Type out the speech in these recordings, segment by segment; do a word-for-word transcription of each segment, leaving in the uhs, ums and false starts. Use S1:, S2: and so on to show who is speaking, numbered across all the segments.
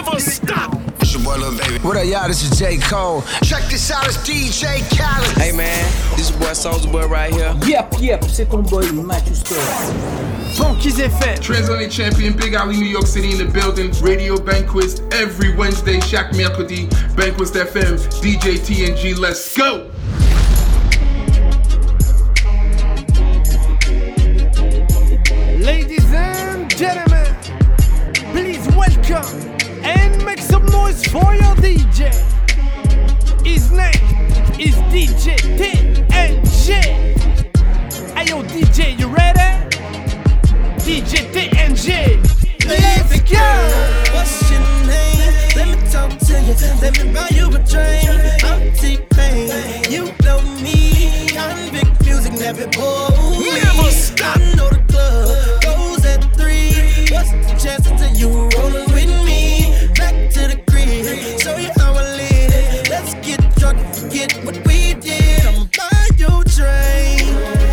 S1: never stop.
S2: It's your boy Lil Baby.
S3: What up, y'all? This is J. Cole.
S2: Check this out, it's D J Khaled.
S4: Hey man, this is your boy Soulja Boy right here.
S5: Yep, yep, c'est ton boy Matthew Scott.
S6: Funky's F M.
S7: Transatlantic champion, Big Alley, New York City in the building. Radio Banquets every Wednesday, chaque mercredi. Banquets F M, D J T N G, let's go!
S6: Ladies and gentlemen, please welcome and make some noise for your D J. His name is D J T N G. Hey yo D J, you ready? D J T N G. Let's go!
S8: What's your name? Let me talk to you. Let me buy you a drink. I'm T-Pain. You know me. Convict music never bold.
S1: Never stop.
S8: I know the club goes at three. What's the chances of you rolling with me? Back to the crib. Show you how I live. Let's get drunk and forget what we did. Come buy your drink.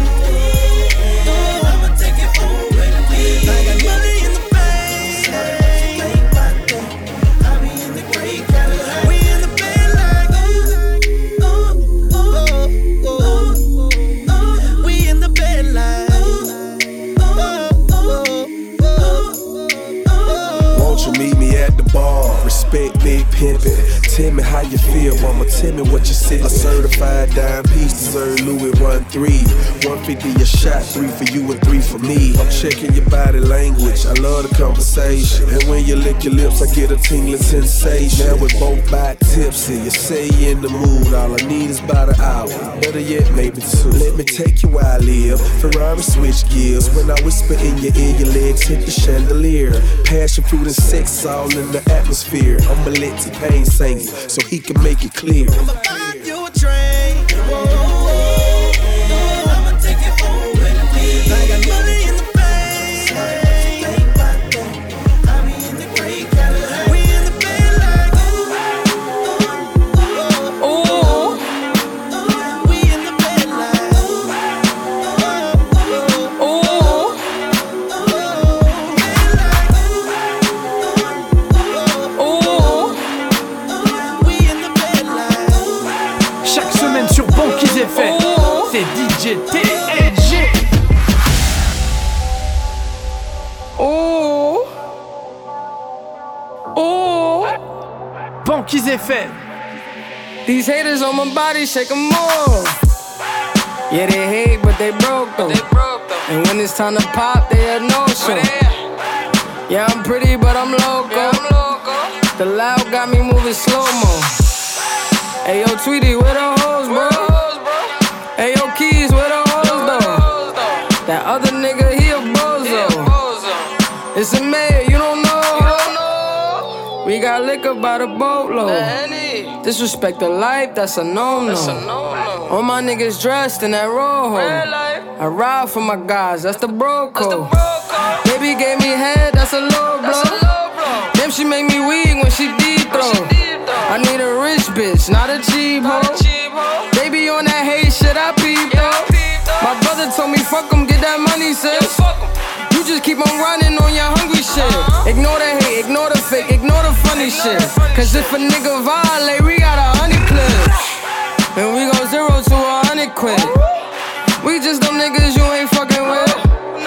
S8: Oh, I'ma take it home with me. I got money in the bank. I be in the great Cadillac. We in the bed like oh, oh, oh, oh, oh, oh. We in the bed like oh, oh, oh, oh.
S9: Won't you meet me at the bar? Respect big pimpin'. Tell me how you feel, mama. Tell me what you said. A certified dime piece deserve Louis run three. one fifty a shot, three for you and three for me. I'm checking your body language. I love the conversation. And when you lick your lips, I get a tingling sensation. Now we're both back tipsy. You say you in the mood. All I need is about an hour. Better yet, maybe two. Let me take you where I live. Ferrari switch gears. When I whisper in your ear, your legs hit the chandelier. Passion, fruit, and sex all in the atmosphere. I'ma let T-Pain sing it so he can make it clear.
S8: I'ma buy you a drink. Whoa, whoa, whoa. I'ma take it home with me. I got money in the bank. I be in the great Cadillac. We in the bed like ooh, ooh, ooh, ooh. We in the bed like ooh, ooh, ooh.
S6: Chaque semaine sur Funky's F M, c'est D J T N G. Oh, oh, Funky's F M.
S4: These haters on my body, shake 'em off. Yeah, they hate, but they broke though. And when it's time to pop, they a no-show. Yeah, I'm pretty, but I'm loco. The loud got me moving slow-mo. Hey, yo, Tweety, where the hoes, bro? Hey, yo, Keys, where the hoes, though? That other nigga, he a bozo. It's a mayor, you don't know. We got liquor by the boatload. Disrespect the life, that's a no-no. All my niggas dressed in that rojo. I ride for my guys, that's the bro code. Baby gave me head, that's a low blow. Damn, she make me weak when she deep throw. I need a rich bitch, not a cheap hoe. Baby on that hate shit, I peep though. My brother told me fuck em, get that money, sis. You just keep on running on your hungry shit. Ignore the hate, ignore the fake, ignore the funny shit. Cause if a nigga violate, we got a hundred clips. And we go zero to a hundred quid. We just them niggas you ain't fucking with.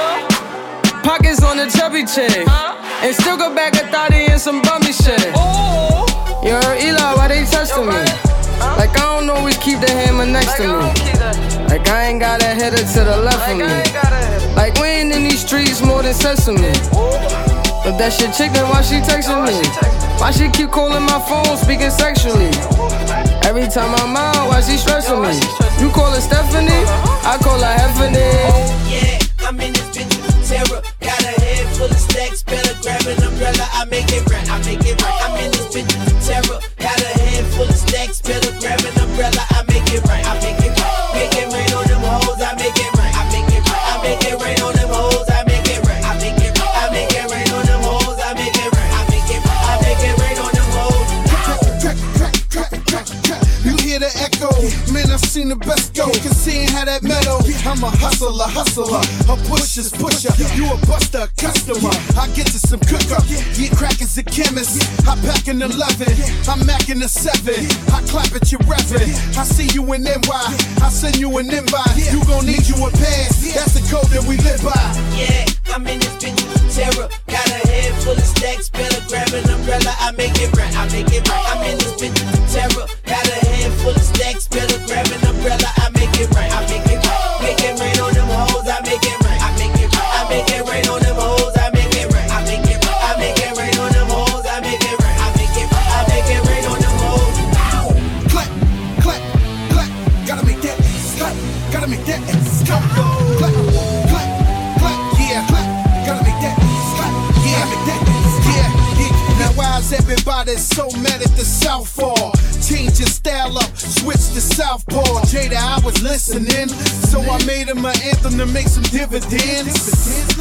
S4: Pockets on the chubby chick. And still go back a thotty and some bummy shit. You heard Eli, why they testing me? Like I don't always keep the hammer next to me. Like I ain't got a header to the left of me. Like we ain't in these streets more than sesame. If that shit chick, then why she texting me? Why she keep calling my phone, speaking sexually? Every time I'm out, why she stressing me? You call her Stephanie, I call her Heffany.
S8: Yeah, I'm in this bitch with terror. Got a head full of stacks, better grab an umbrella. I make it right, I make it right. I'm in this bitch with terror. Got a head full of stacks, better grab an umbrella. I make it right, I make it right. Make it rain on them hoes, I make it right. I make it right, I make it rain on them hoes, I make it right. I make it right, I make it rain on them hoes, I make it right. I make it right, I make it rain on them hoes.
S2: You hear the echo, man, I've seen the best go. Can see how that metal. I'm a hustler, hustler, a pusher's pusher. You a buster, customer. I get to some cook up. Get crackers a chemist. I pack an eleven, I'm macking a seven. I clap at your reverend. I see you in N Y, I send you an invite. You gon' need you a pass, that's the code that we live by.
S8: Yeah, I'm in this bitch with terror. Got a head full of stacks, better grab an umbrella. I make it right, I make it right. I'm in this bitch with terror. Got a head full of stacks, better grab an umbrella. I make it right, I make it right. Make it rain on them hoes, I make it right. I make it right, I make it rain on them hoes, I make it right. I make it right, I make it rain on them hoes, I make it right. I make it right, I make it rain on them hoes.
S2: Clap, clap, clap. Gotta make that clap. Gotta make that clap. Clap, clap, clap. Yeah, clap. Gotta make that clap. Yeah, make that yeah, yeah. Now why is everybody so mad at the Southpaw? Change your style up, switch to Southpaw. Jada, I was listening, so I made him an anthem to make some dividends.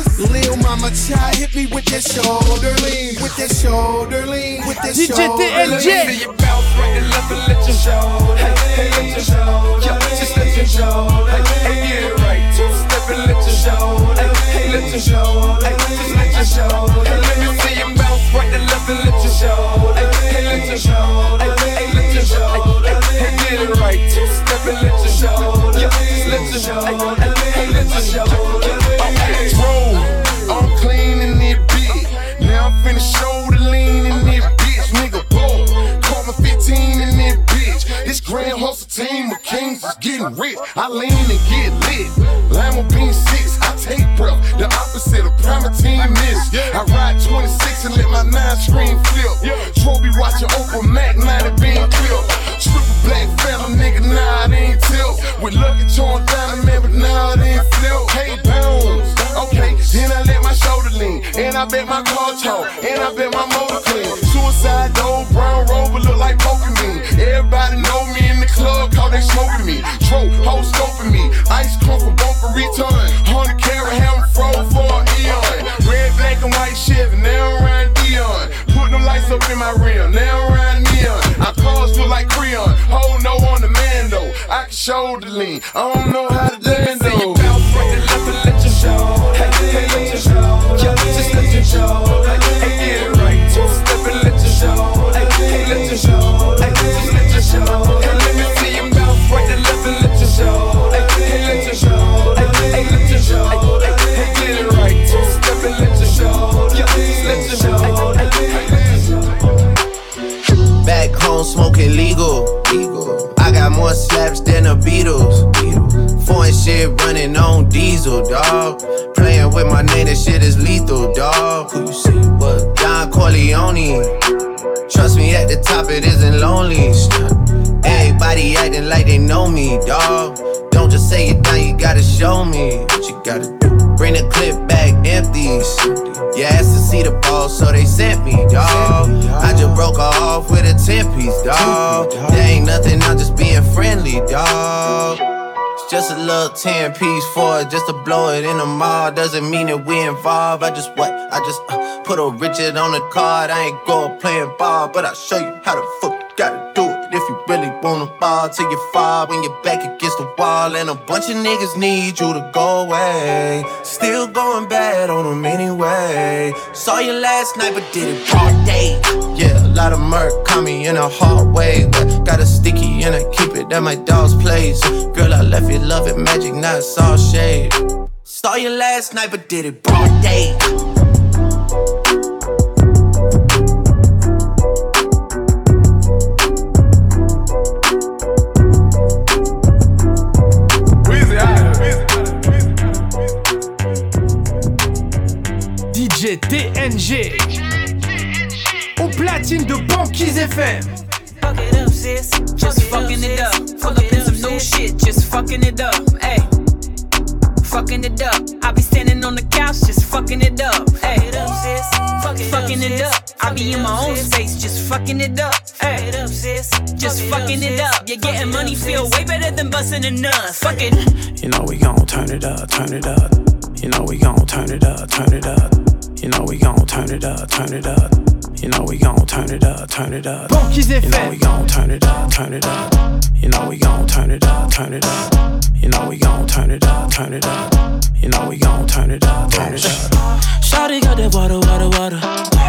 S2: Lil Mama Child hit me with that shoulder lean, with that shoulder lean, with that
S6: D J
S2: shoulder
S6: T N J.
S1: Let you bounce right and left and let your shoulder. Hey, hey, let your shoulder. Yeah, just let your shoulder. Hey, hey, get it right. Two step and let your shoulder. Hey, hey, let your shoulder. Hey, just let your shoulder. Hey, let me see you bounce right and left and let your shoulder. Hey, hey, let your shoulder. Hey, hey, let your shoulder. Hey, get it right. Two step and let your shoulder. Yeah, just let your shoulder. Hey, hey, let your shoulder. Okay, roll. I'm clean in this bitch. Now I'm finna shoulder lean in this bitch. Nigga, boom. Call me fifteen in this bitch. This grand hustle team of kings is getting rich. I lean and get lit. Lima bean six, I take breath. The opposite of Primatine miss. I ride twenty-six and let my nine screen flip. Trophy watching Oprah Mac, ninety bean clip. Triple black phantom, nigga, nah, it ain't tilt. With Lucky Charm down, man, but nah, it ain't flip. Hey, pounds. Okay, then I let my shoulder lean. And I bet my car talk. And I bet my motor clean. Suicide door, brown rover, look like Pokemon. Everybody know me in the club, cause they smoking me. Tro, hoe scoping me. Ice come from both for return. Hundred carat hammer froze for an eon. Red, black, and white Chevy, now around Dion. Put them lights up in my rim, now around neon. Our cars look like Creon. Hold no on the man though. I can shoulder lean. I don't know how to dance though. You bounce right to left and let your show. Hey, hey, let your show. Yeah, just let your show. Hey, hey, get it right. Two step and let your show. Hey, hey, let your show. Hey, just let your show. Hey, let me see you bounce right to left and let your show. Hey, hey, let your show. Hey, hey, let your show. Hey, hey, get it right. Two step and let your show. Yeah, just let your show. Hey, hey, let your show.
S3: Back home smoking legal. legal. I got more slaps than the Beatles. Foreign shit running on diesel, dawg. Playing with my name, that shit is lethal, dawg. Who you see? What? Don Corleone. Trust me, at the top it isn't lonely. Everybody acting like they know me, dawg. Don't just say it down, you gotta show me what you gotta do. Bring the clip back empties. You asked to see the ball, so they sent me, dawg. I just broke her off with a ten piece, dawg. There ain't nothing, I'm just being friendly, dawg. It's just a little ten piece for it, just to blow it in the mall. Doesn't mean that we involved. I just what? I just uh, put a Richard on the card. I ain't go playing ball, but I'll show you how the fuck you gotta do it. If you really wanna ball till you fall when you're back against the wall. And a bunch of niggas need you to go away. Still going bad on them anyway. Saw you last night but did it all day. Yeah, a lot of murk caught me in a hard way. But got a sticky and I keep it at my dog's place. Girl, I left you loving magic, not it's all shade. Saw you last night but did it broad day.
S6: D J T N G au platine de Banquise F M.
S10: Fuck it up, sis. Just fucking it up. Pull up in some new shit. Just fucking it up. Ayy. Fucking it up. I be standing on the couch. Just fucking it up. Ayy. Fucking it up. I be in my own space. Just fucking it up. Ayy. Just fucking it up. You're getting money. Feel way better than busting a nut. Fuck it.
S11: You know we gon' turn it up. Turn it up. You know we gon' turn it up. Turn it up. You know we gon' turn it up. Turn it up. You know we gon' turn it up, turn it up.
S6: Banquise F M.
S11: You know we gon' turn it up, turn it up. You know we gon' turn it up, turn it up. You know we gon' turn it up, turn it up. You know we gon' turn it up, turn it up.
S12: Shawty got that water, water, water.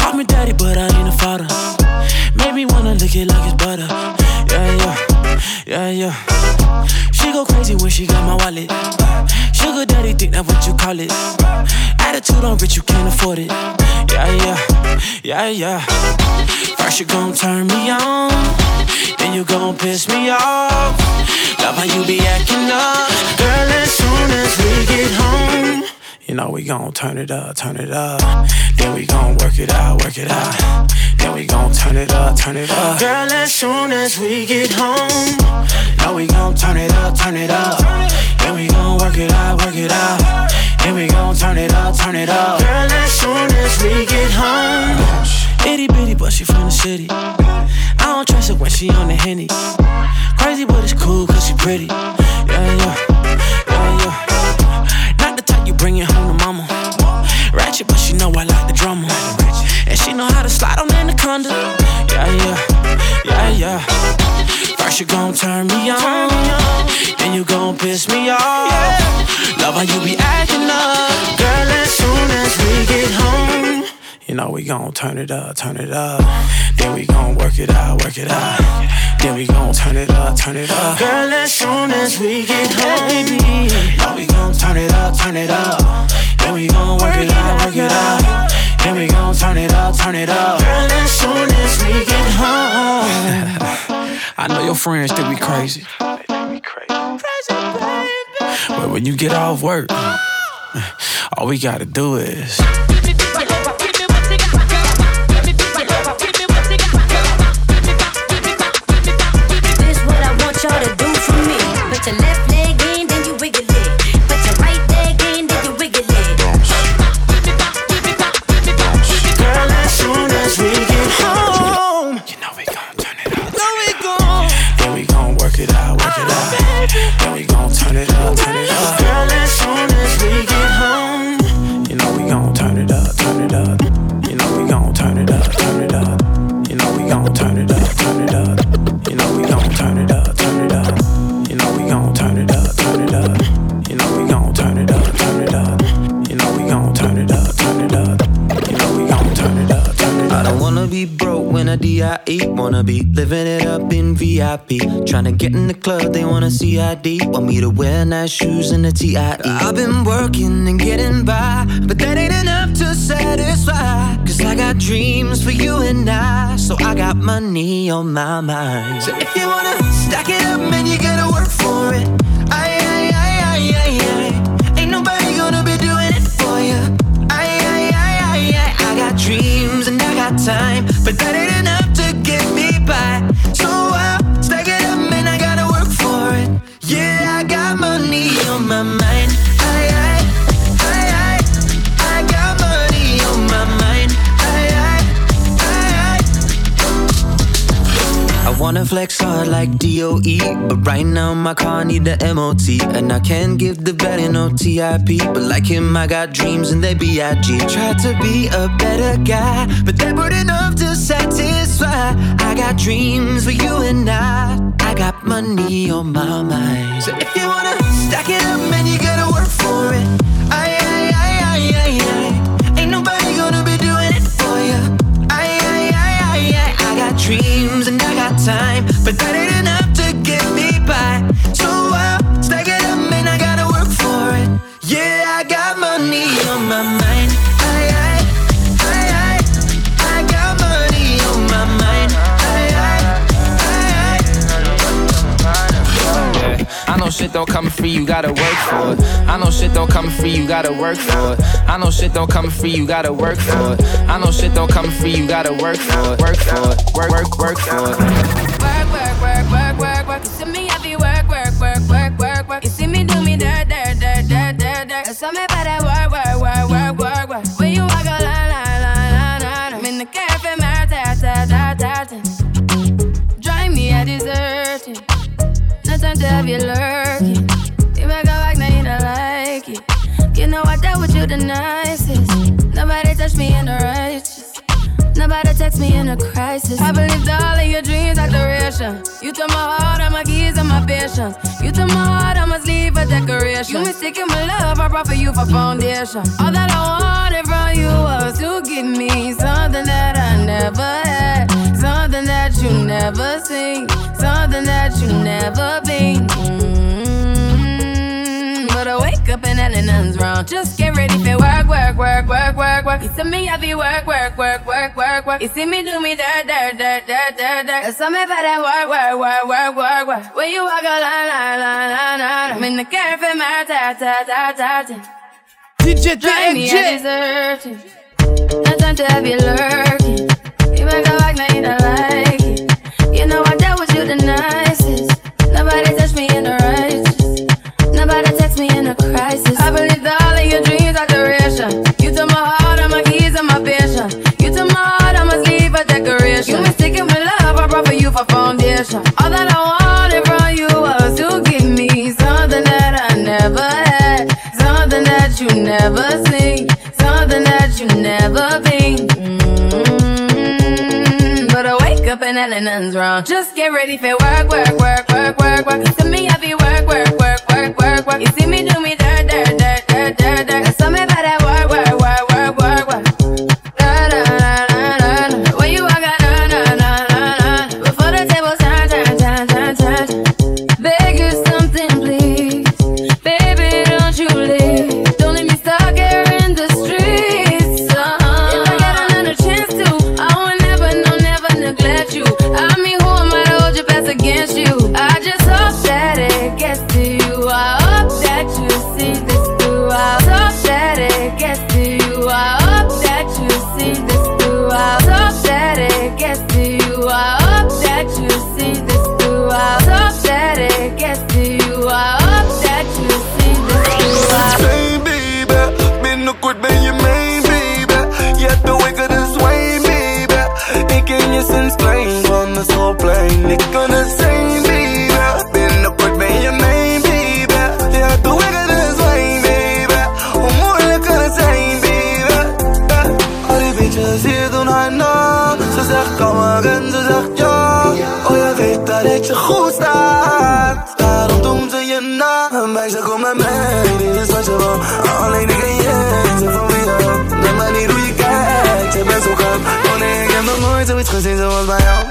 S11: Call me daddy, but I ain't a father. Made me wanna lick it like it's butter. Yeah, yeah, yeah, yeah. She go crazy when she got my wallet. Sugar daddy, think that's what you call it. Attitude on rich, you can't afford it. Yeah, yeah, yeah, yeah. First you gon' turn me on, then you gon' piss me off. Love how you be acting up, girl, as soon as we get home. You know we gon' turn it up, turn it up. Then we gon' work it out, work it out. Then we gon' turn it up, turn it up. Girl, as soon as we get home, know we gon' turn it up, turn it up. Then we gon' work it out, work it out. Then we gon' turn it up, turn it up. Girl, as soon as we get home. Itty bitty, but she from the city. I don't trust her when she on the Henny. Crazy, but it's cool cause she pretty. Yeah, yeah, yeah, yeah. Not the type you bring it home to mama. Ratchet, but she know I like the drama. And she know how to slide on Anaconda. Yeah, yeah, yeah, yeah. First you gon' turn me on, then you gon' piss me off. Love how you be acting up, girl, as soon as we get home. You know we gon' turn it up, turn it up. Then we gon' work it out, work it out. Then we gon' turn it up, turn it up. Girl, as soon as we get home, baby, know we gon' turn it up, turn it up. Then we gon' work it out, work it out. Then we gon' turn it up, turn it up. Girl, as soon as we get home. I know your friends think we crazy. They think we crazy. Crazy, baby. But when you get off work, all we gotta do is.
S12: Y'all to do for me. Put your left leg in, then you wiggle it. Put your right leg in, then you wiggle it.
S11: Girl, as soon as we get home, you know we gon' turn it up. No, we gon' Then we gon' work it out, work it out. Then we gon' turn it up, turn it up. Girl, as soon as we get home, you know we gon' turn it up, turn it up. You know we gon' turn it up, turn it up. You know we gon' turn it up, turn it up. You know we gon' turn it up. You know we gon' turn it up, turn it up. You know we gon' turn it up, turn it up. You know we gon' turn it up, turn it up. You know we gon' turn it up, turn it up.
S13: I don't wanna be broke when I D I E. Wanna be living it up in V I P. Tryna get in the club, they wanna C I D. Want me to wear nice shoes and a T I E. I've been working and getting by, but that ain't enough to satisfy. Cause I got dreams for you and I, so I got money on my mind. So if you wanna stack it up, man, you gotta work for it. Aye, aye, aye, aye, aye, aye. Ain't nobody gonna be doing it for you. Aye, aye, aye, aye, aye. I got dreams and I got time, but that ain't enough to get me by. So I'll stack it up, man, I gotta work for it. Yeah, I got money on my mind. Aye, aye, aye, aye. I got money on my mind. Aye, aye, aye, aye. I wanna flex hard like D O E, but right now my car need the M O T. And I can't give the better no T I P, but like him I got dreams and they B I G. Tried to be a better guy, but they weren't enough to satisfy. I got dreams for you and I, I got money on my mind. So if you wanna stack it up, man, you gotta work for it. Aye, aye, aye, aye, aye, aye. Ain't nobody gonna be doing it for you. Aye, aye, aye, aye, aye. I got dreams and I got time, but that ain't enough to get me by. So I'll stack it up, man, I gotta work for it. Yeah, I got money on my mind. Aye, aye, aye, aye. I got money on my mind. Aye, aye, aye,
S14: aye. Yeah. I know shit don't come free, you gotta work for it. I know shit don't come free, you gotta work for it. I know shit don't come free, you gotta work for it. I know shit don't come free, you gotta work for it. Work for it, work, work, work for it.
S15: Work, work, work, work, work, work. You see me happy, work, work, work, work, work, work. You see me do me dirt, dirt, dirt, dirt, dirt, dirt. That's me by that work, work, work, work, work, work. When you walk a line, line, line, line, line. I'm in the cafe, my ta, ta, ta, ta, ta. Drive me a dessert. No time to have you lurking. You make a back, now you don't like it. You know I dealt with you the nicest. Nobody touched me in the righteous. Nobody text me in a crisis. I believed all of your dreams are duration. You took my heart, all my keys, and my patience. You took my heart, I must leave a decoration. You mistaken my love, I brought for you for foundation. All that I wanted from you was to give me something that never been. Mm-hmm. But I wake up and hell nothing's wrong. Just get ready for work, work, work, work, work, work. You see me heavy work, work, work, work, work, work. You see me do me dirt, dirt, dirt, dirt, dirt, dirt. So me for that work, work, work, work, work, work. When you walk a line, line, line, line, line. I'm in the cafe, my ta, ta, ta, ta, ta.
S6: D J T N J.
S15: No time to have you lurking. You make a like, now you don't like it. You know I dealt with you the nicest. Nobody touched me in the righteous. Nobody text me in a crisis. I believed all of your dreams are duration. You took my heart, all my keys, and my passion. You took my heart, I must leave a decoration. You mistaken with love, I brought for you for foundation. All that I wanted from you was to give me something that I never had. Something that you never seen. Something that you never been. Mm-hmm. But I wake up and hell nothing's wrong. Just get ready for work, work, work, work, work, work. You see me heavy work, work, work, work, work, work. You see me do me dirt, dirt, dirt, dirt, dirt, dirt. That's something about that work, work, work, work, work, work. Da da da da da. When you walk out, da da da da da. Before the table turn, turn, turn, turn, turn. Beg you something, please, baby, don't you leave. Don't leave me stuck here in the streets. Uh-huh. If I get another chance to, I will never, no, never neglect you. I mean, who am I to hold your best against you? I just hope that it gets to you. I hope that you see this through. I hope that it gets to you. I hope that you see this through. I hope that it gets to you. I hope that you see this through. I hope that it gets to you. I hope that you see this through.
S16: Hey baby, binnenkort ben je mijn baby. Je hebt de wicked this way baby. Ik ken je sinds klein van de schoolplein. Ik kan het zijn baby. Binnenkort ben je mijn baby. Je hebt de wicked this way baby. Hoe moeilijk kan het zijn baby. Al die bitches hier doen haar na. Ze zegt kom maar en ze zegt ja. Oh je weet dat ik je goed staat. Daarom doen ze je na. Een meisje kom met mij. Dit is wat je wil. Alleen ik en jij zijn van wie je. De manier hoe je kijkt. Je bent zo gaaf. Oh nee, ik heb nog nooit zoiets gezien zoals bij jou.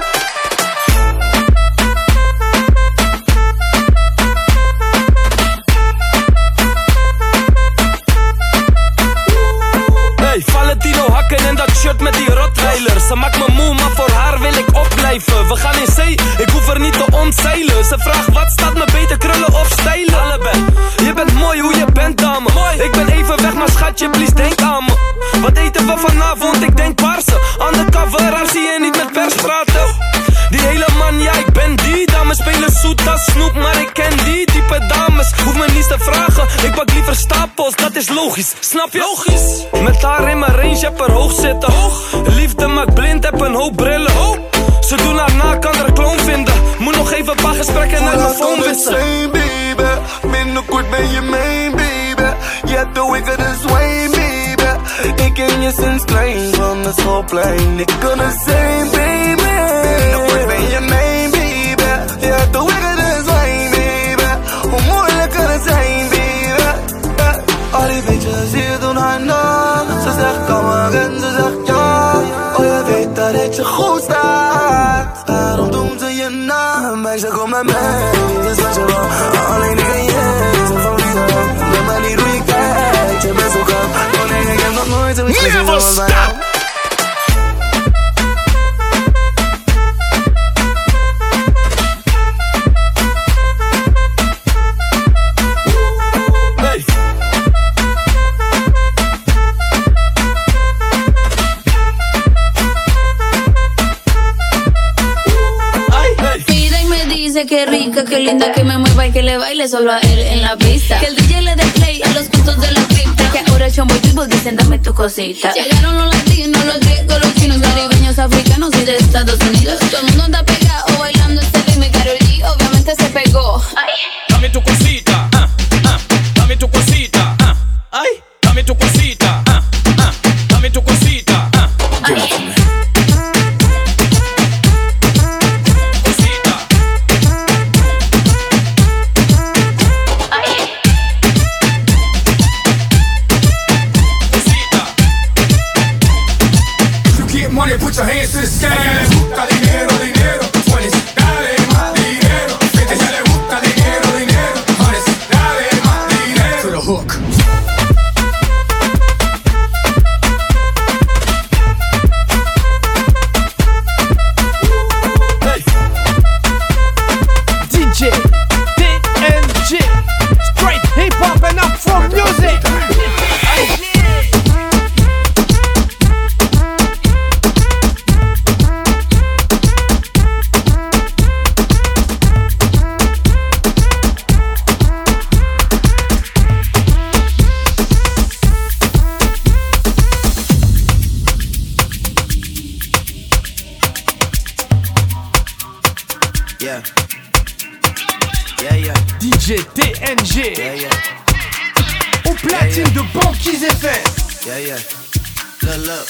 S17: Hey, Valentino hakken en dat shirt met die rottweiler. Ze maakt me moe, maar voor haar wil ik opblijven. We gaan in zee, ik hoef er niet te ontzeilen. Ze vraagt wat staat me beter, krullen of stijlen. Allebei, je bent mooi hoe je bent dame. Ik ben even weg, maar schatje, please denk aan me. Wat eten we vanavond, ik denk paarse. Undercover, haar zie je niet met pers praten. Die hele man, ja ik ben die. Dames spelen zoet als snoep, maar ik ken die type dames. Hoef me niets te vragen, ik pak liever stapels, dat is logisch. Snap je? Logisch. Met haar in mijn range, heb er hoog zitten. Hoog. Liefde maakt blind, heb een hoop brillen. Oh. Ze doen haar na, kan er kloon vinden. Moet nog even een paar gesprekken naar mijn phone wisselen.
S16: Baby, binnenkort ben je mijn baby. Je hebt de wicked this way baby. Ik ken je sinds klein van de schoolplein. Ik kan het zijn baby. Binnenkort ben je mijn baby. Je hebt de wicked this way baby. Hoe moeilijk kan het zijn baby. Al die bitches hier doen haar na. Ze zegt kom maar en ze zegt ja. Oh je weet dat ik je goed staat. Daarom doen ze je na. Meisje kom met mij, dit is wat je wil. Alleen ik en jij zijn van wie je. De manier hoe je kijkt, je bent zo gaaf. Oh nee, ik heb nog nooit zoiets gezien zoals bij jou.
S18: Qué rica, qué linda, que me mueva y que le baile solo a él en la pista. Que el D J le dé play a los puntos de la cripta. Que ahora el chombo y people dicen dame tu cosita. Llegaron los latinos, los griegos, los chinos, caribeños, africanos y de Estados Unidos. Todo el mundo anda pegado bailando este ritmo y Karol G obviamente se pegó. Ay.
S17: Dame tu cosita, ah, ah, dame tu cosita, ah, ay, dame tu cosita, ah, ah, dame tu cosita, ah, ay.
S1: Put your hands to the sky. Dinero, dinero, twenties. Dale más dinero. Que te sale
S3: Yeah. Yeah, yeah.
S6: D J T N G.
S3: Yeah, yeah.
S6: Au platine yeah, yeah. de Banquise F M.
S3: Yeah, yeah. Look, look.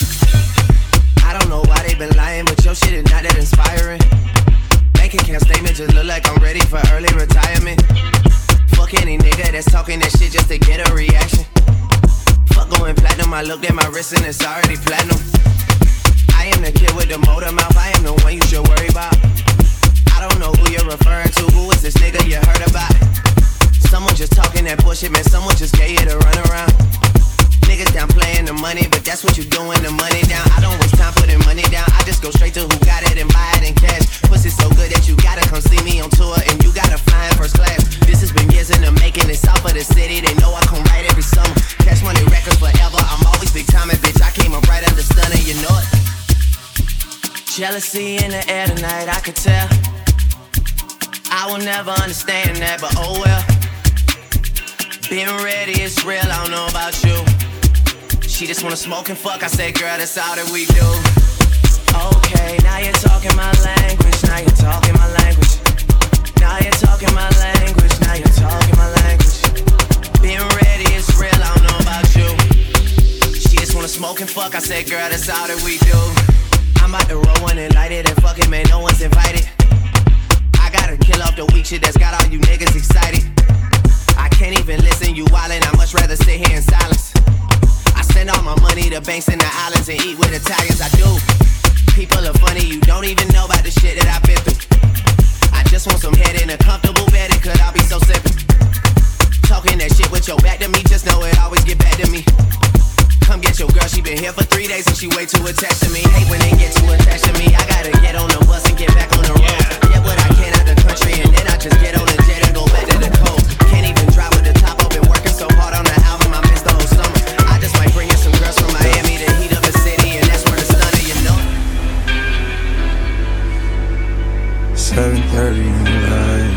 S3: I don't know why they been lying, but your shit is not that inspiring. Bank account statement just look like I'm ready for early retirement. Fuck any nigga that's talking that shit just to get a reaction. Fuck going platinum, I looked at my wrist and it's already platinum. I am the kid with the motor mouth, I am the one you should worry about. I don't know who you're referring to, who is this nigga you heard about? Someone just talking that bullshit, man, someone just gave you the runaround. Niggas down playing the money, but that's what you doing, the money down. I don't waste time putting money down, I just go straight to who got it and buy it in cash. Pussy so good that you gotta come see me on tour and you gotta fly in first class. This has been years in the making, it's south of the city, they know I come right every summer. Cash money records forever, I'm always big time and bitch, I came up right under stunner, you know it. Jealousy in the air tonight, I could tell. I will never understand that, but oh well. Being ready, it's real, I don't know about you. She just wanna smoke and fuck, I say, girl, that's all that we do. Okay, now you're talking my language, now you're talking my language. Now you're talking my language, now you're talking my language. Being ready, it's real, I don't know about you. She just wanna smoke and fuck, I say, girl, that's all that we do. I'm about to roll one and light it, and fuck it, man, no one's invited. I gotta kill off the weak shit that's got all you niggas excited. I can't even listen, you wildin', I much rather sit here in silence. I send all my money to banks in the islands and eat with Italians, I do. People are funny, you don't even know about the shit that I've been through. I just want some head in a comfortable bed, it could all be so simple. Talking that shit with your back to me, just know it always get back to me. Come get your girl, she been here for three days and she way too attached to me. Hate when they get too attached to me, I gotta get on the bus and get back on the road. Get what I can out the country and then I just get on the jet and go back to the coast. Can't even drive with the top up, been working so hard on the album, I missed the whole summer. I just might bring in some girls from Miami to heat up the city, and that's where the stunner, you know.
S16: seven thirty in the light.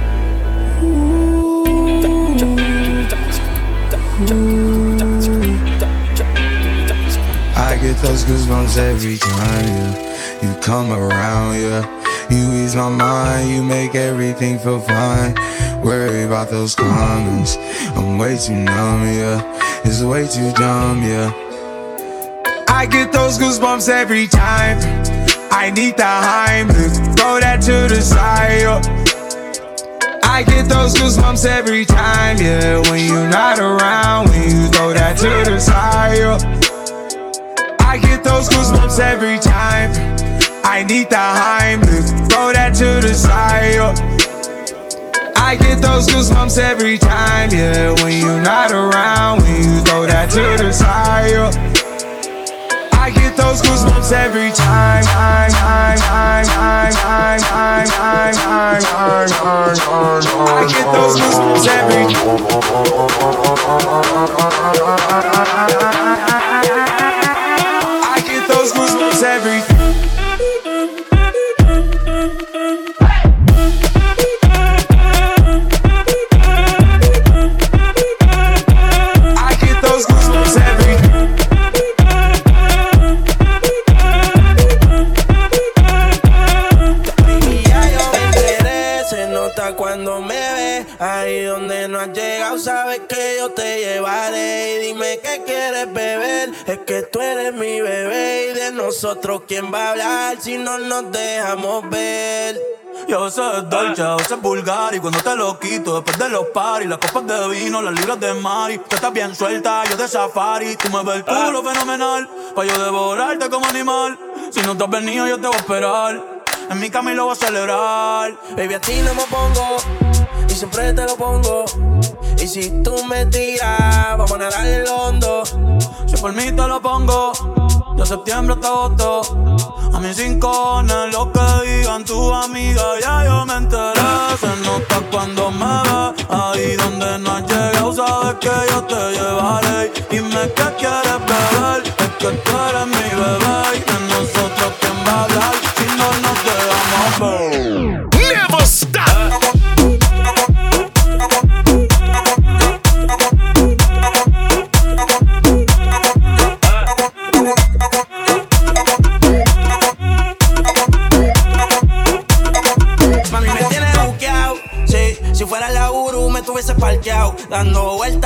S16: I get those goosebumps every time, yeah. You come around, yeah. You ease my mind, you make everything feel fine. Worry about those comments, I'm way too numb, yeah. It's way too dumb, yeah. I get those goosebumps every time. I need the Heimlich, throw that to the side, yeah. I get those goosebumps every time, yeah. When you're not around, when you throw that to the side, yeah. I get those goosebumps every time. I need the Heimlich, throw that to the side, yeah. I get those goosebumps every time, yeah. When you're not around, when you throw that to the side, yeah. I get those goosebumps every time. I get those goosebumps every I get those goosebumps every I get those goosebumps every
S19: Cuando me ves, ahí donde no has llegado, sabes que yo te llevaré. Y dime qué quieres beber, es que tú eres mi bebé. Y de nosotros, ¿quién va a hablar si no nos dejamos ver?
S20: Y a veces es dolce, a veces es vulgar. Y cuando te lo quito, después de los paris, las copas de vino, las libras de mari. Tú estás bien suelta, yo de safari. Tú me ves el culo fenomenal, pa' yo devorarte como animal. Si no te has venido, yo te voy a esperar. En mi cama y lo voy a celebrar.
S19: Baby, a ti no me pongo y siempre te lo pongo. Y si tú me tiras, vamos a nadar en el hondo.
S20: Si por mí te lo pongo, de septiembre hasta agosto. A mis cinco cojones lo que digan tus amigas, ya yo me enteré. Se nota cuando me ves, ahí donde no has llegado, sabes que yo te llevaré. Dime qué quieres beber, es que tú eres mi bebé. Y de nosotros, ¿quién va a hablar si no nos dejamos ver?
S6: Never stop.
S19: Mami,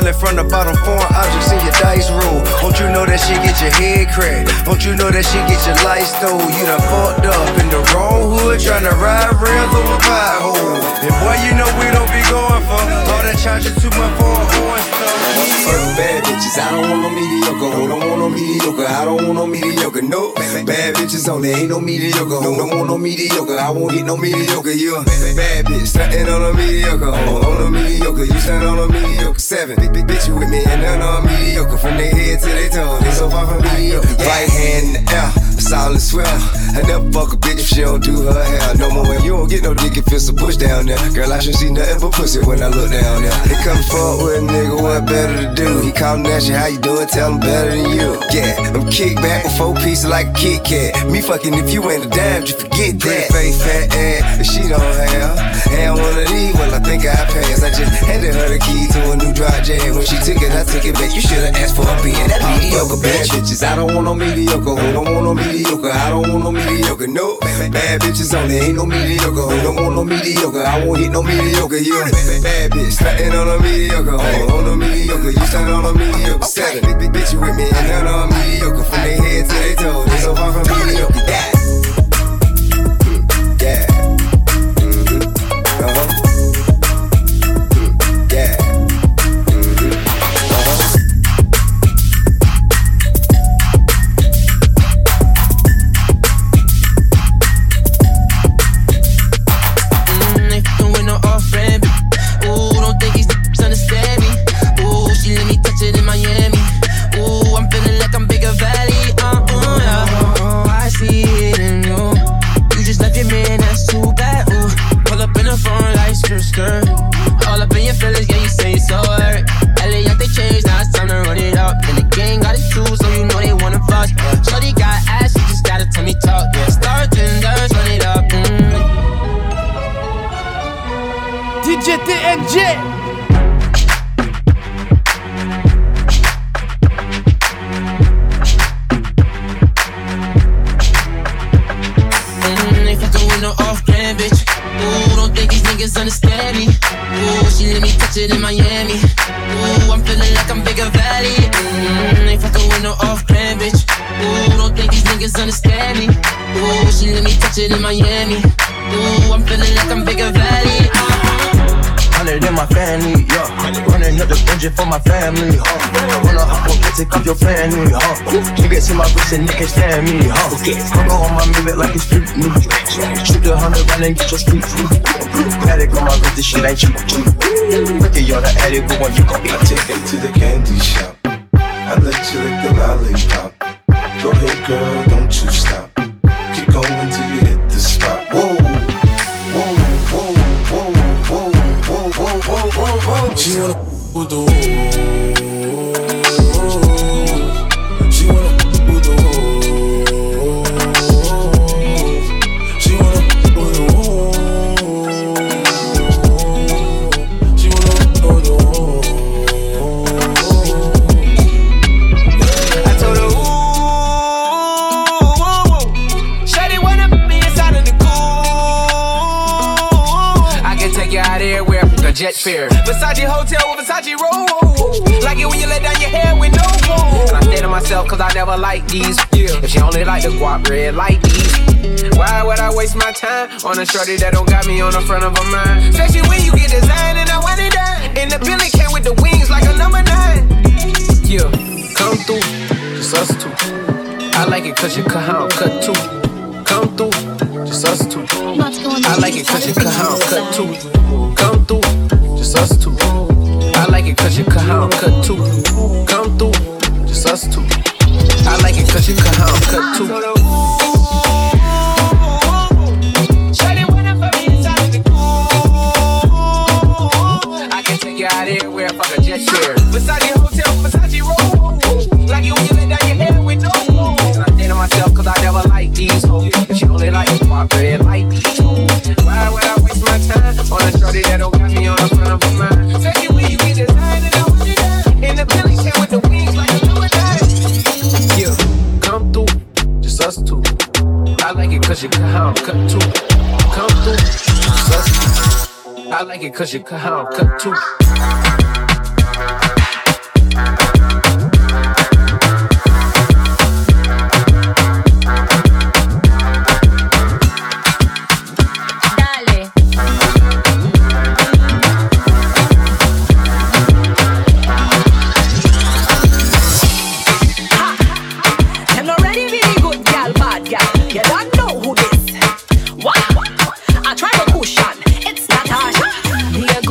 S5: stealing from the bottom, foreign objects in your dice roll. Don't you know that shit get your head cracked? Don't you know that shit get your life stole? You done fucked up in the wrong hood, tryna ride rails over potholes. And boy, you know we don't be going for all that charging too much for a horn stuff.
S21: Fuck bad bitches, I don't want no mediocre. Oh, don't want no mediocre, I don't want no mediocre. No, bad bitches only, ain't no mediocre. Oh, don't want no mediocre, I won't hit no mediocre. You a bad bitch, stuntin' on a mediocre. Oh, on a mediocre, you stand on a mediocre. Seven, big, big bitch with me and none on mediocre. From their head to their toe, they so far from mediocre. Right hand in the air, solid swell. I never fuck a bitch if she don't do her hair. No more, you don't get no dick if it's a bush down there. Girl, I should see nothing but pussy when I look down there. They come forward with a nigga, what better to do? He callin' at you, how you doing? Tell him better than you. Yeah, I'm kick back with four pieces like a Kit Kat. Me fucking if you ain't a dime, just forget that. Face fat ass, but she don't have. And one of these, well, I think I passed. I just handed her the key to a new dry jam. When she took it, I took it back. You should've asked for a being that mediocre bitch. Bad bitches, I don't want no mediocre. Who don't want no mediocre? I don't want no mediocre. No, bad bitches only, ain't no mediocre. Who don't want no mediocre? I won't hit no mediocre. You bad bitch, stuntin' on a mediocre. Oh, on a mediocre, you stand on a mediocre. Seven, big, big bitch, you with me and none on mediocre. From their head to their toes, they so far from mediocre. Yeah. Yeah. Mm-hmm. Uh-huh. Mm, yeah. Mm-hmm. Uh-huh.
S13: Mm, they fucking with no off-brand. Ooh, don't think these niggas understand me. Ooh, she let me touch it in Miami. Ooh, I'm feeling like I'm Bigger Valley. Uh, uh, yeah. Oh, I see it in you. You just left your man, that's too bad. Ooh, pull up in the front like skirt, skirt. All up in your feelings, yeah, you say it's so hurt. L A, they changed, now it's time to run it up. And the gang got it too, so you know they wanna fuss. Yeah. Shorty got ass, you just gotta tell me talk. Yeah, star tenders, run it up. Mm.
S6: D J T N J.
S13: Mm, they fucking with no off-brand, bitch. Ooh, don't think these niggas understand me. Ooh, she let me touch it in Miami. Ooh, I'm feeling like I'm Bigger Valley. Mm, they fucking with no off-brand, bitch. Ooh, don't think these niggas understand me. Ooh, she let me touch it in Miami. Ooh, I'm feeling like I'm Bigger Valley.
S22: Hundred in my family, yeah. Running up the engine for my family, huh? Wanna hop up and take off your family, huh? Niggas in my wrist and they can't stand me, huh? I'm go on my music like it's street music. Shoot the hundred round and get your street food. Paddock on my wrist, this shit ain't cheap. Ricky, you're the addict, but when you gon' be
S23: take it to the candy shop. I let you lick the lollipop. Go ahead, girl, don't you stop. Keep going till you hit the spot. Whoa.
S21: She wanna with the woo. She wanna with the woo. She wanna with the woo. She wanna with the woo.
S8: I told her, ooh, shawty wanna put me inside of the cool.
S14: I can take you out everywhere. A jet fare, Versace hotel with Versace roll. Like it when you let down your hair with no phone. And I say to myself, cause I never like these. Yeah. If she only like the guap red like these, why would I waste my time on a shorty that don't got me on the front of her mind? Especially when you get designed and I want it done. And the Billy came with the wings like a number nine. Yeah, come through, just us two. I like it cause you cut how cut two. Come through, just us two. I like it cause you cut how cut two. Come through, just us two. I like it cause you cut how cut two. Come through, just us two. I like it cause you cut how cut two. I can take you out everywhere, fuck a jet share. Versace hotel, Versace roll. Like you when you let down your hair with no phone. And I say to myself cause I never like these hoes. But she only like my red like these hoes. Why would I waste my time on a shorty that don't got me on the front of her mind? Especially when you get designed and I want it done. And the Billy came with the wings like a number nine. Yeah, come through, just us two. I like it cause you cut how cut two. Come through, just us two. I like it cause you cut how cut two.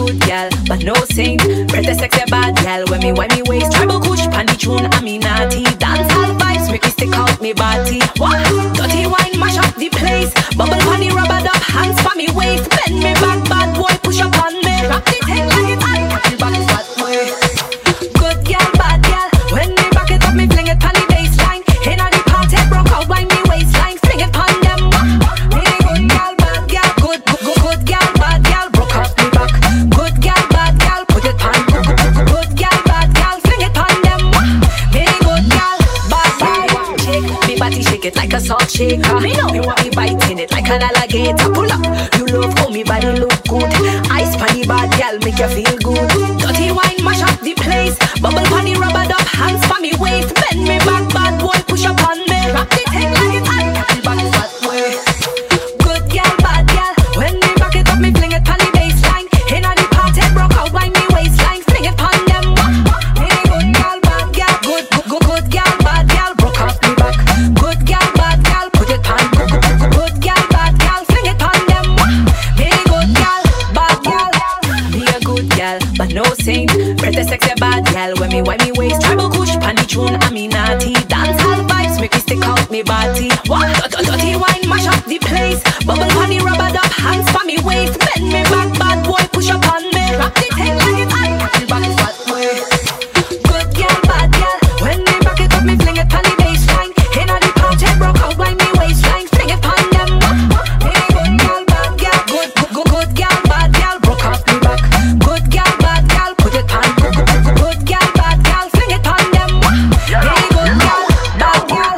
S2: good gal, but no saint. Pretty sexy bad gal, when me when me waist. Tribal kush, pandy tune, I mean naughty. Dance all vibes, make me stick out me body. What? Dirty wine, mash up the place. Bubble honey, rubber up, hands for me waist. Bend me back, bad boy, push up on me. Rock the thing like it's hot, catch back fat way. Good gal, bad gal, when me back it up, me fling it on the baseline. Inna the party, broke out by me waistline. Fling it on them. Me good gal, bad gal, good, good, good, good gal, bad gal, broke out me back. Good gal, bad gal, put it on. Good, good, good, good gal, bad gal, fling it on them. Me good gal, bad gal, shake me body, shake it like a salt shaker. Me know you want me biting it like an alligator. Pull up, you love how me body look good. Ice panny bad gal, make you feel good. Dirty wine, mash up the place. Bubble panny, rubber up, hands for me waist. Bend me back, bad boy, push up on me. Rock the thing like it's hot, catch back fat way. Good gal, bad gal, when me back it up, me fling it on the baseline. Inna the party, broke out by me waistline. Fling it on them. Me good gal, bad gal, good, good, good, good gal, bad gal, broke off me back. Good gal, bad gal, put it on. Good, good, good, good gal, bad gal, fling it on them. Me good gal, bad gal, be a good gal, but no saint. Pretty sexy bad gal, when me when me waist. Tribal kush, pandy tune, I mean naughty. Dance all vibes, make me stick out me body. What? Dirty wine, mash up the place. Bubble honey, rubber up, hands for me waist. Bend me back, bad boy, push up on me. Rock the thing like it's hot, catch back fat way. Good gal, bad gal, when me back it up, me fling it on the baseline. Inna the party, broke out by me waistline. Fling it on them. Me good gal, bad gal, good, good, good, good gal, bad gal, broke off me back. Good gal, bad gal, put it on. Good, good, good, good gal, bad gal, fling it on them. Me good gal, bad gal.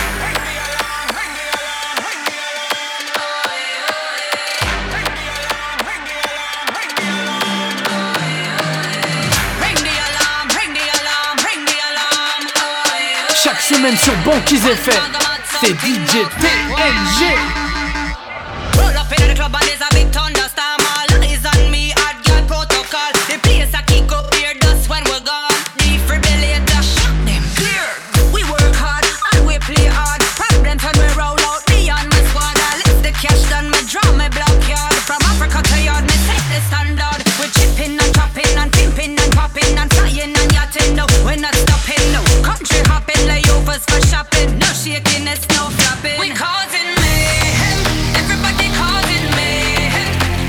S6: Chaque semaine sur Banquise F M, c'est D J T N G.
S10: Roll up in the club and there's a big thunderstorm. All eyes on me, hard girl protocol. The place I kick up here dust when we're gone. Defibrillator, shut them clear. We work hard and we play hard. Problems when we roll out beyond my squad. I lift the cash down, me draw my block yard. From Africa to yard, me set the standard. We're chipping and chopping and pimping and popping and flying and yachting. No, we're not stopping. No, country hopping, layovers for shopping. No shakiness, no flapping. We causing mayhem. Everybody causing mayhem.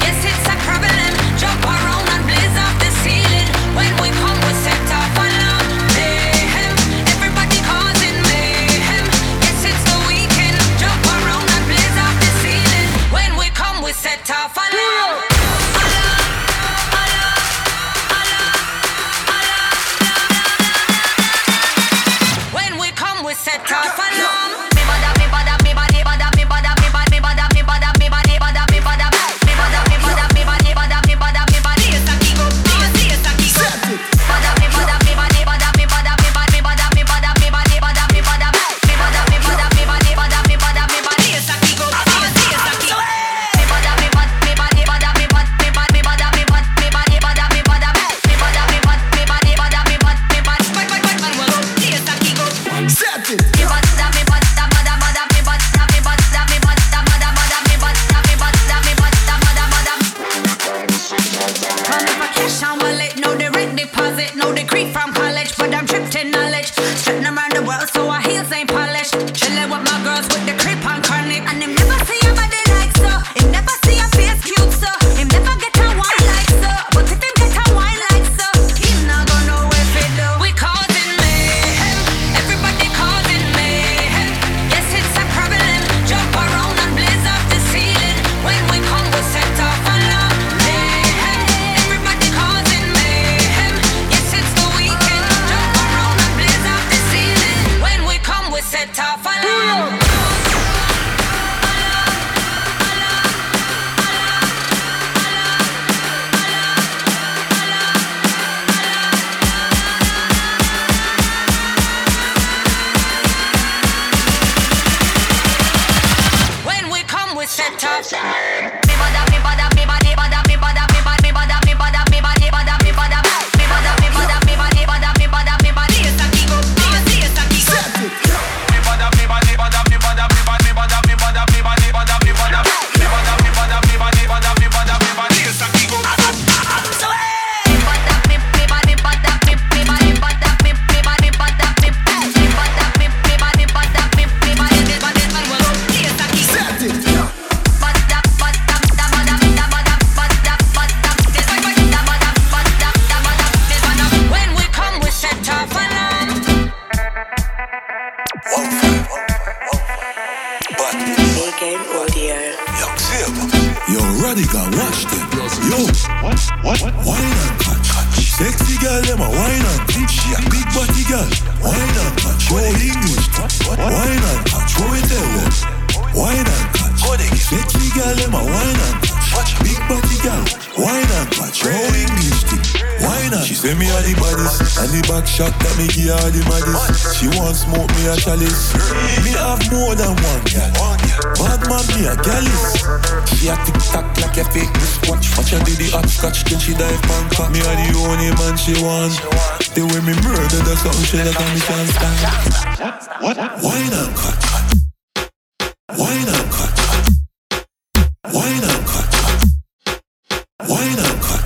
S4: Sexy girl, them a wine and catch. She a big body girl, wine and catch. Show English, wine and catch. Show it tell them, wine and catch. Sexy girl, them a wine and catch. Big body girl, wine and catch. Show English thing, wine and. She say me a the baddest, and the back shot that me give her the maddest. She want smoke me a chalice. Me have more than one girl. Bad man me a gallus. She a tick tock like a fake wristwatch. Watch her do the hot scotch, then she dive Bangkok. Me a the only man she want. The way me murder, that's something she like and me can't stand. What? Wine and cut. Wine and cut. Wine and cut. Wine and cut.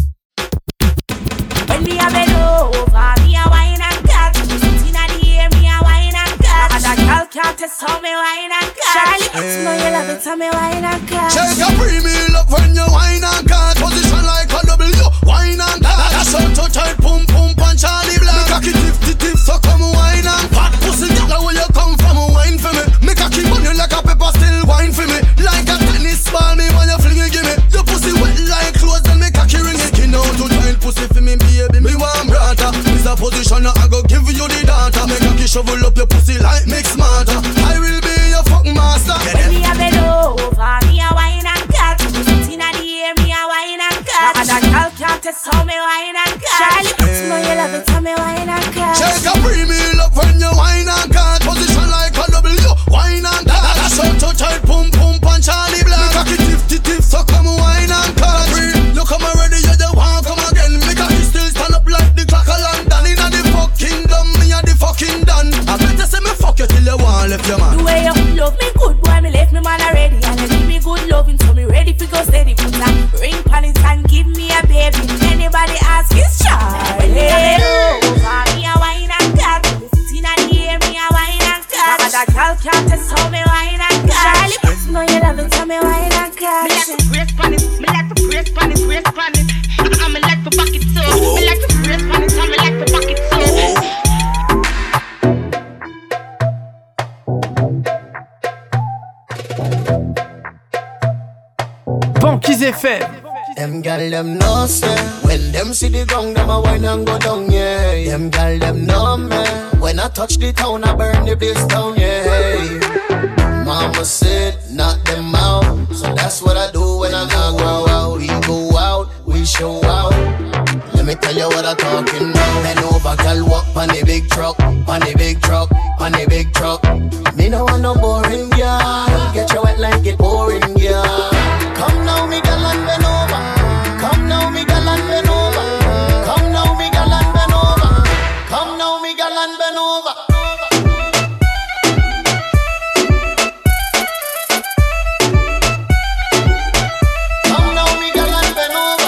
S2: When me a bend over, me a wine and cut. Inna the air, me a wine and cut. And a girl can't test how me wine and cut. Charlie, you know you love it, how me wine and cut.
S7: Shake a pre-meal up when you wine and cut. Position like a W, wine and cut. That's how to tight, pum pum and Charlie Black. Me cocky tip tip tip, so come wine and fat pussy. Girl, where you come from, wine for me. Me cocky on you like a pepper, still wine for me. Like a tennis ball, me when you fling it, give me. Your pussy wet like clothes, then me cocky ring it. Skin out to giant pussy for me, baby. Me want brata. This a position, I go give you the data. Me cocky shovel up your pussy like mix smarter. I will be your fuck master.
S2: When me a bend over, me a wine and cut. Inna the air, me a wine and cut. And a girl can't test how me wine and cut. Charlie, you know you love it, how me wine and cut.
S7: Shake a pre-meal up when you wine and cut. Position like a W, wine and cut. That's how to tight, pum pum and Charlie Black. Me cocky tip tip tip, so come wine and cut. You come already, you the one come again. Me cocky still stand up like the clock of London. Inna the fucking dumb, me a the fucking done. I better say me fuck you till you want left your man.
S2: The way you love me good, boy, me left me man already. And you give me good loving, so me ready for go steady. Put a ring on it and give me a baby. Anybody ask is Charlie. Over me a wine and cut. Inna the air, me a wine and cut. And a girl can't test how me wine and cut. Charlie, you know you love it, how me wine and cut.
S9: Me like to brace on it, me like to brace on it, brace on it. I me like to back it too. Me like to brace on it, I me like to back it too.
S6: Banquise F M.
S15: Them gal them know say when them see the ground, them a wine and go down, yeah. Them gal them know me when I touch the town, I burn the place down, yeah. Mama said knock them out, so that's what I do when I not go out. We go out, we show out. Let me tell you what I'm talking about. Bend over, gal, walk on the big truck, on the big truck, on the big truck. Me no want no boring girl, get you wet like it pouring, girl. Come now, me gal and bend over. Come now, me gal and bend over. Come now, me gal and bend over. Come now, me gal and bend over. Come now, me gal and bend over.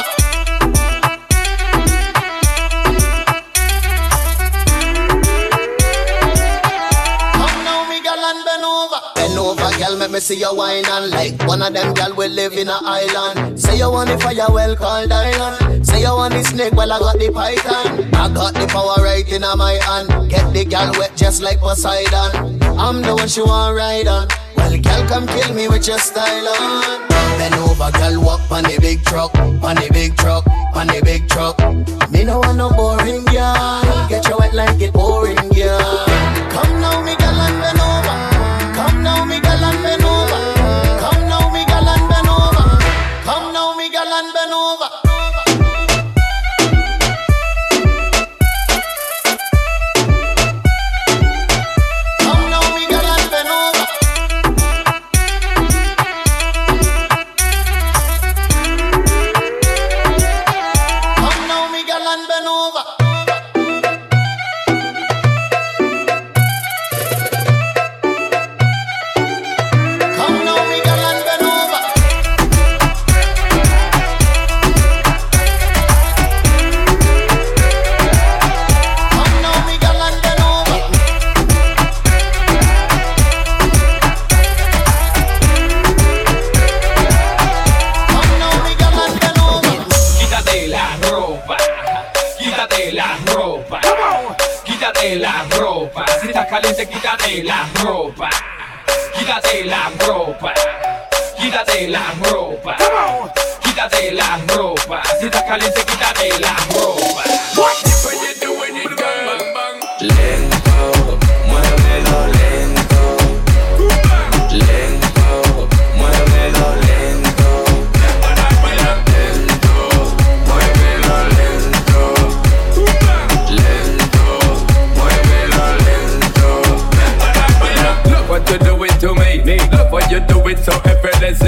S15: Come now, me gal and bend over. Bend over, gal, make me see you wine and like one of them gal will live in a island. Say you want the fire, well called island. Say you want the snake, well I got the python. I got the power right in my hand. Get the gal wet just like Poseidon. I'm the one she want ride on. Well, gal, come kill me with your style on. Bend over, gal, walk on the big truck, on the big truck, on the big truck. Me no want no boring girl. Get you wet like it pouring, girl. Come now, me gal and bend over. Come now, me gal and bend over. Come now, me gal and bend over. Come now, me gal and bend over. Come now, me gal and bend over. Come now, me gal and bend over.
S24: la ropa, si está caliente quítate la ropa, quítate la ropa, quítate la ropa, quítate la ropa, si está caliente quítate la ropa.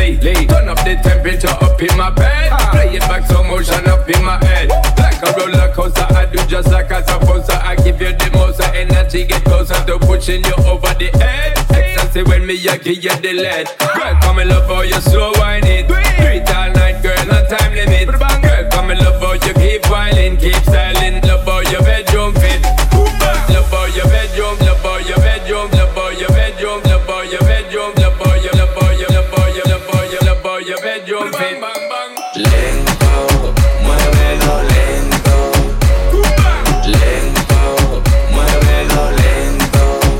S1: Lee, Lee. Turn up the temperature up in my bed. Ah. Play it back, slow motion up in my head. Like a roller coaster, I do just like I'm supposed to. I give you the most energy, get closer to pushing you over the edge. Ecstasy when me, I give you the lead. Girl, come and love how you slow wine it. Do it all night, girl, no time limit. Girl, come and love how you keep whining, keep styling. Love how your bedroom fit. Love how your bedroom, love how your bedroom, love how your bedroom, love how your bedroom, love how your, love how your, love how your, love how your, love how your bedroom fit.
S3: Lento, muévelo lento. Lento, muévelo lento.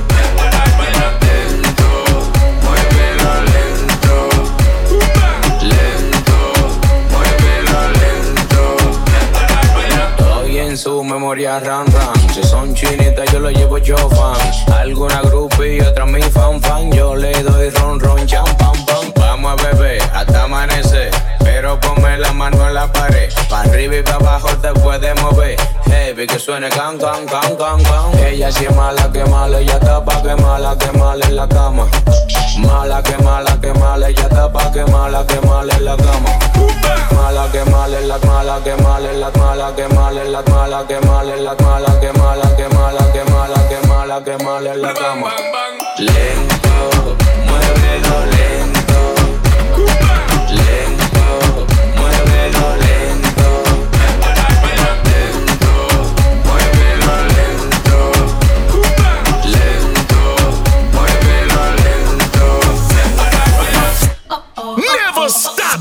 S3: Lento, muévelo lento. Lento, muévelo lento. Estoy en su memoria ram ram. Si son chinitas yo lo llevo yo fan. Alguna groupie y otra mi fan fan. Yo le doy ron ron cham pam pam. Vamos a beber hasta amanecer. Pero ponme la mano en la pared. Pa' arriba y pa' abajo te puedes mover. Heavy que suene can can can can can. Ella si es mala que mala. Ella está pa' que mala que mala en la cama. Mala que mala que mala. Ella está pa' que mala que mala en la cama. Mala que mala en la mala que mala en la mala que mala en la mala que mala en la mala que mala que mala que mala que mala que mala en la cama. Lento, muévelo lento. Lento, muévelo lento. Lento, muévelo lento. Lento, muévelo lento.
S16: Never stop.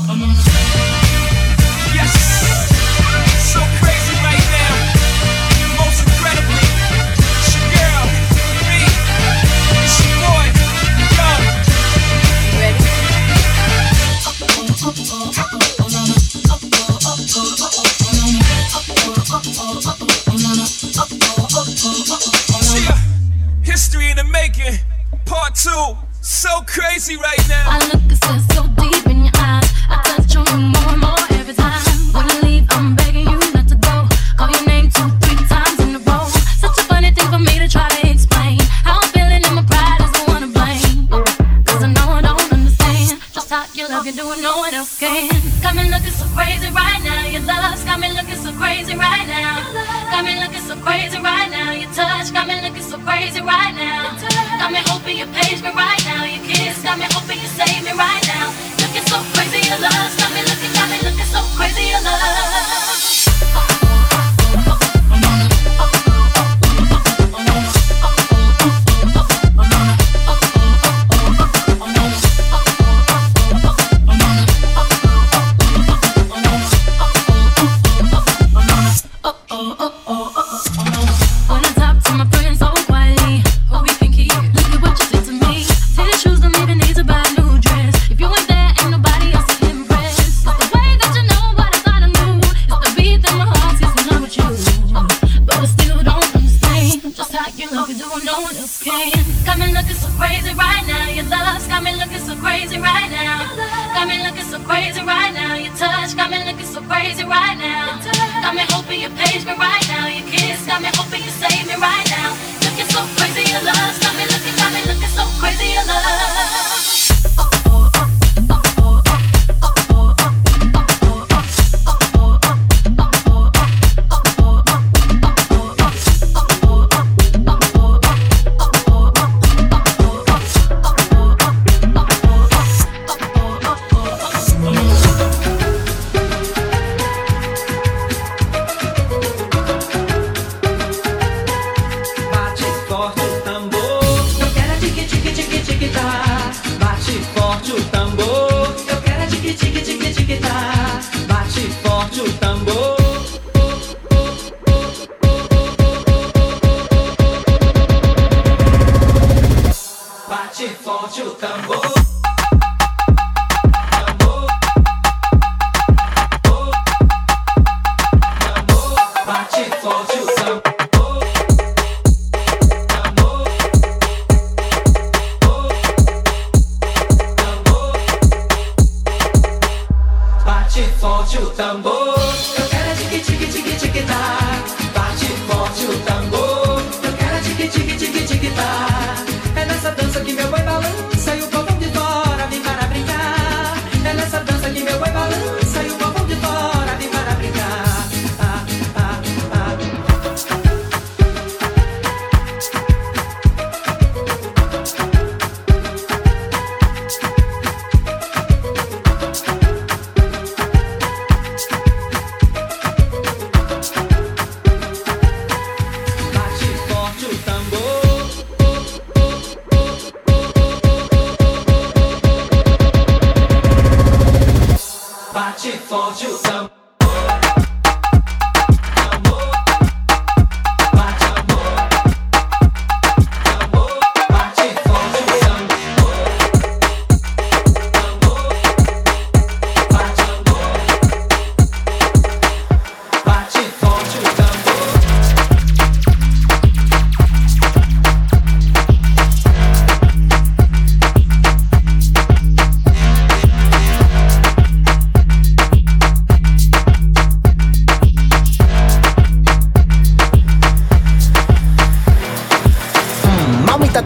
S17: Yes, so crazy right now. Most incredibly, it's your girl, me, it's your boy, Young. Ready? Yeah, history in the making, part two. So crazy right now.
S18: I look and stare so deep in your eyes. I touch on you more and more every time. When you leave, I'm begging you not to go. Call your name two, three times in a row. Such a funny thing for me to try to explain. How I'm feeling and my pride is the one to blame. Cause I know I don't understand just how you love you doing no one else can. Got me looking so crazy right now. Your love's got me looking so crazy right now. Got me looking so crazy right now. Your touch got me looking so crazy right now. Got me hoping you page me right now. Your kiss got me hoping you save me right now. Looking so crazy, your love got me looking, got me looking so crazy, your love. When I talk to my friends so quietly, oh, we can keep. Look at what you did to me. Say the shoes don't even need to buy a new dress. If you ain't there, ain't nobody else to impress. It's the way that you know what I thought I knew. It's the beat that my heart gets in love with you. But I still don't understand just how you love you doing no one else can. Got me looking so crazy right now. Your love's got me looking so crazy right now. Got me looking so crazy right now. Your touch got me looking so crazy right now. Got me hoping you page me right now. Your kiss got me hoping you save me right now. Looking so crazy, your love got me looking, got me looking so crazy, your love.
S25: Bate forte o tambor, eu quero a tique tique tique tique tá. Bate forte o tambor, eu quero a tique tique tique tique tá. Bate forte o tambor. Bate forte o tambor. Bate forte o tambor. Bate forte o tambor, eu quero a tique tique tique tique tá. Bate forte o tambor, eu quero a tique tique tique tique tá. É nessa dança que meu boi balança e o povão de fora vem para brincar.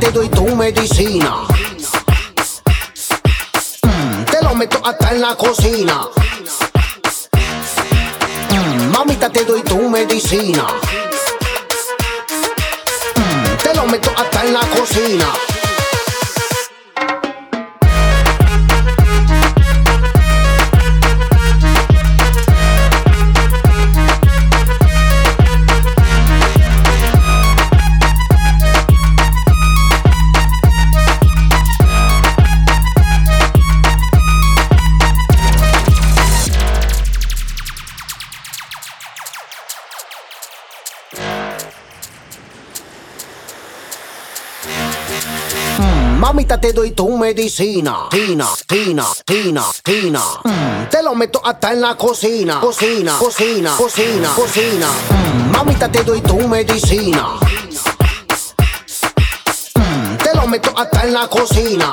S11: te doy tu medicina. Mm, te lo meto hasta en la cocina. Mm, mamita, te doy tu medicina. Mm, te lo meto hasta en la cocina. Mamita, te doy tu medicina. Tina, tina, tina, tina. Mm, te lo meto hasta en la cocina. Cocina, cocina, cocina, cocina. Mm, mamita, te doy tu medicina. Mm, te lo meto hasta en la cocina.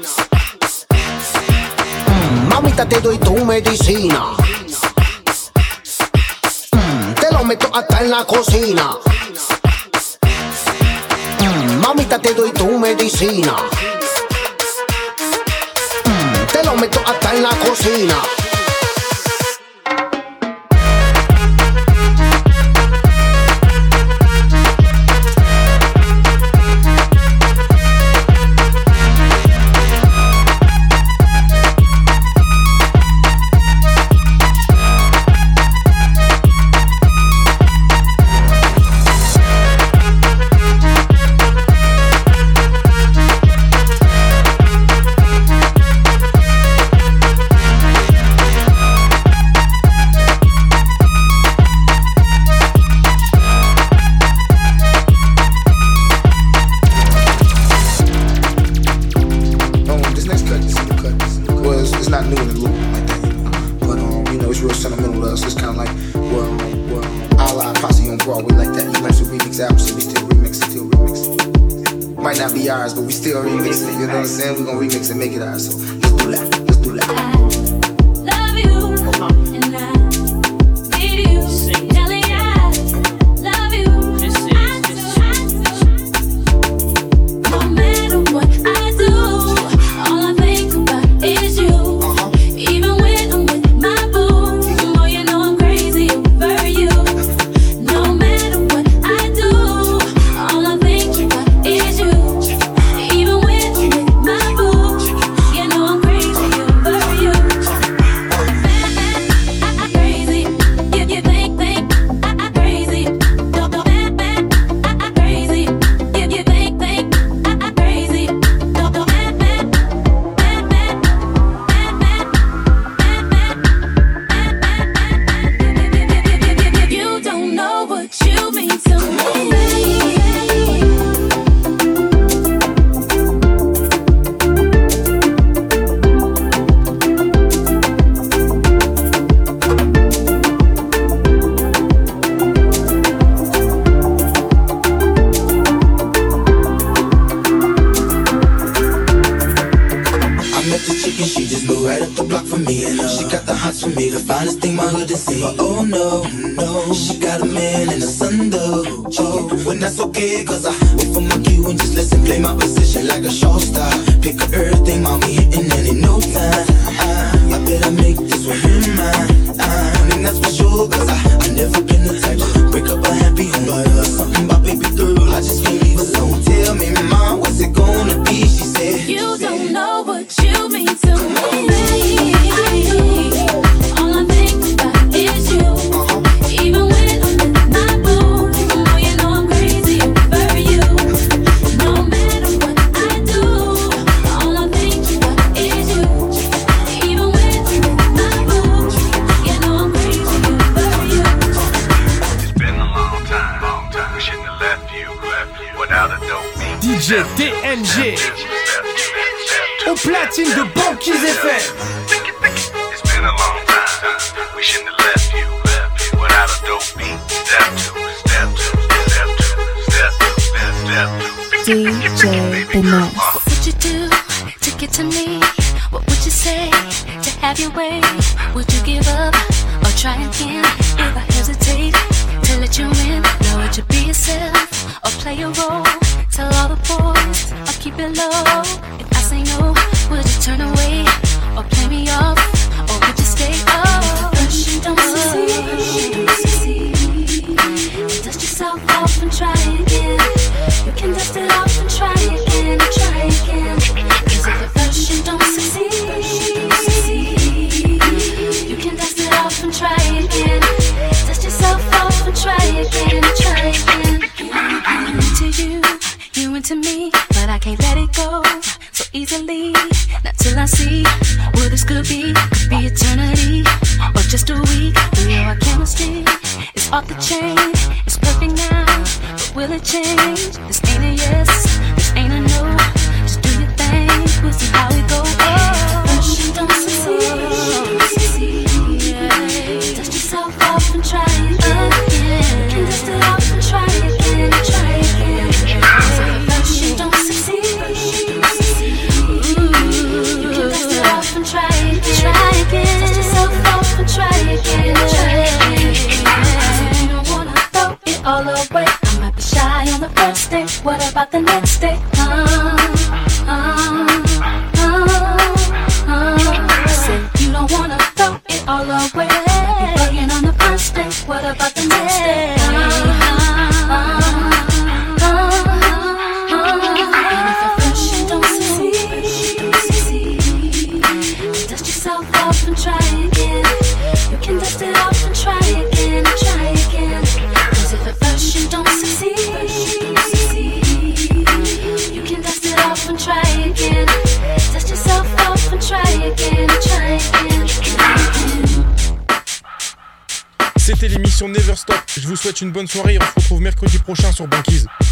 S11: Mm, mamita, te doy tu medicina. Mm, te lo meto hasta en la cocina. Mm, mamita, te doy tu medicina. Mm, te lo meto hasta en la cocina. But we still remix it, you know what I'm saying? We gon' remix and make it ours, so let's do that, let's do that.
S18: I love you, and I need you. Nelly, I love you. No matter what I do, all I think about is you. Even when I'm with my boo, oh, you know I'm crazy over you. No matter what I do, all I think about is you.
S12: Cause I wait for my cue and just listen, play my position like a show star. Pick up everything, mommy, hitting and in no time. I, I bet I make this one mine. I mean, that's for sure, cause I, I never been the type to break up a happy home. But uh, something about baby girl, I just can't leave alone. Tell me, mom, what's it gonna be? She said,
S18: you don't know what you mean to me. All I think about is you. Even when I'm with my boo, oh, you know I'm crazy over you. No matter what I do, all I think about is you. Even when I'm with my boo, you know I'm crazy over you.
S16: It's been a long time, long time. We shouldn't have left you, left you without a dope beat.
S6: D J T N G au platine de Banquise F M.
S16: It's been a long time. We shouldn't have left you, left you without a dope beat. Step two, step two, step two, step two, step two.
S18: D J Finesse. What would you do to get to me? What would you say to have your way? Would you give up or try again? If I hesitate to let you in, now would you be yourself or play a role? Tell all the boys it low. If I say no, would you turn away or play me off, or would you stay up? First you don't succeed, dust yourself off and try again. You can dust it off and try again, and try again. 'Cause if at first you don't succeed, you can dust it off and try again. Dust yourself off and try again, and try again. I'm into you, you into me, but I can't let it go so easily. Not till I see what this could be. Could be eternity or just a week. We know our chemistry is off the chain. It's perfect now, but will it change? This ain't a yes, this ain't a no. Just do your thing, we'll see how it goes. Oh, first you don't succeed, dust yourself off and try again. You can dust it off and try again, and try again. So first you don't succeed, you can dust it off and try again, try again. Dust yourself off and try again, try again. You don't wanna throw it all away. I might be shy on the first day. What about the next day? Uh, uh, uh, uh. Say you don't wanna throw it all away. You're bugging on the first day. What about the next day? Uh, uh, uh, uh. And if at first you don't succeed, dust yourself off and try again. You can dust it off and try again, and try again. 'Cause if at first you don't succeed, you can dust it off and try again. Dust yourself off and try again, and try again.
S5: C'était l'émission Never Stop. Je vous souhaite une bonne soirée et on se retrouve mercredi prochain sur Banquise.